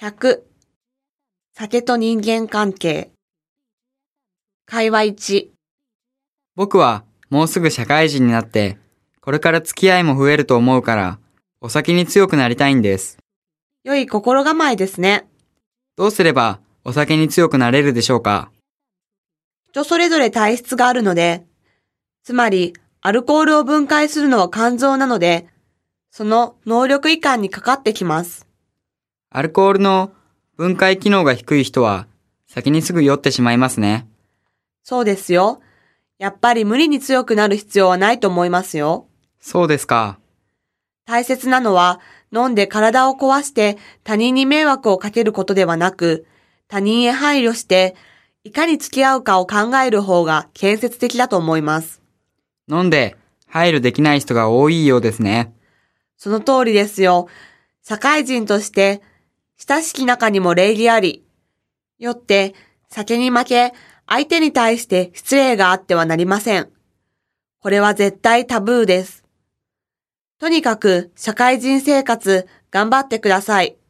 100、酒と人間関係。会話1、 僕はもうすぐ社会人になって、これから付き合いも増えると思うから、お酒に強くなりたいんです。 良い心構えですね。 どうすればお酒に強くなれるでしょうか？ 人それぞれ体質があるので、つまりアルコールを分解するのは肝臓なので、その能力移管にかかってきます。 アルコールの分解機能が低い人は、酒にすぐ酔ってしまいますね。 そうですよ。やっぱり無理に強くなる必要はないと思いますよ。 そうですか。 大切なのは、飲んで体を壊して他人に迷惑をかけることではなく、他人へ配慮して、いかに付き合うかを考える方が建設的だと思います。 飲んで配慮できない人が多いようですね。 その通りですよ。社会人として、親しき中にも礼儀あり。よって、酒に負け、相手に対して失礼があってはなりません。これは絶対タブーです。とにかく、社会人生活、頑張ってください。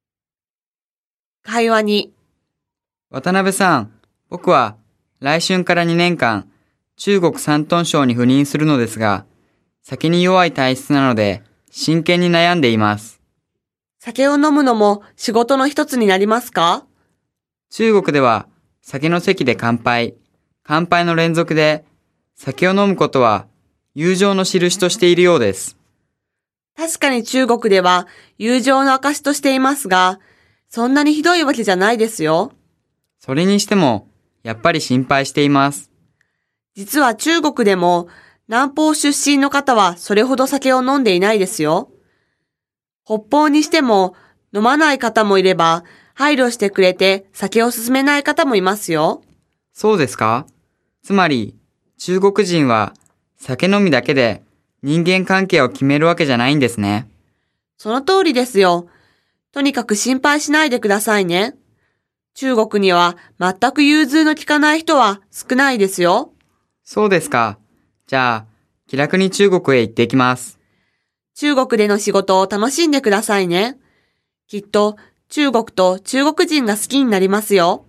会話に、 渡辺さん、僕は来春から2年間、中国山東省に赴任するのですが、酒に弱い体質なので、真剣に悩んでいます。 酒を飲むのも仕事の一つになりますか？ 中国では、酒の席で乾杯の連続で、酒を飲むことは友情の印としているようです。 確かに中国では友情の証としていますが、そんなにひどいわけじゃないですよ。 それにしても、やっぱり心配しています。 実は中国でも南方出身の方はそれほど酒を飲んでいないですよ。北方にしても飲まない方もいれば、配慮してくれて酒を勧めない方もいますよ。 そうですか？つまり、中国人は酒飲みだけで人間関係を決めるわけじゃないんですね。 その通りですよ。とにかく心配しないでくださいね。中国には全く融通の利かない人は少ないですよ。 そうですか。じゃあ、気楽に中国へ行ってきます。 中国での仕事を楽しんでくださいね。きっと中国と中国人が好きになりますよ。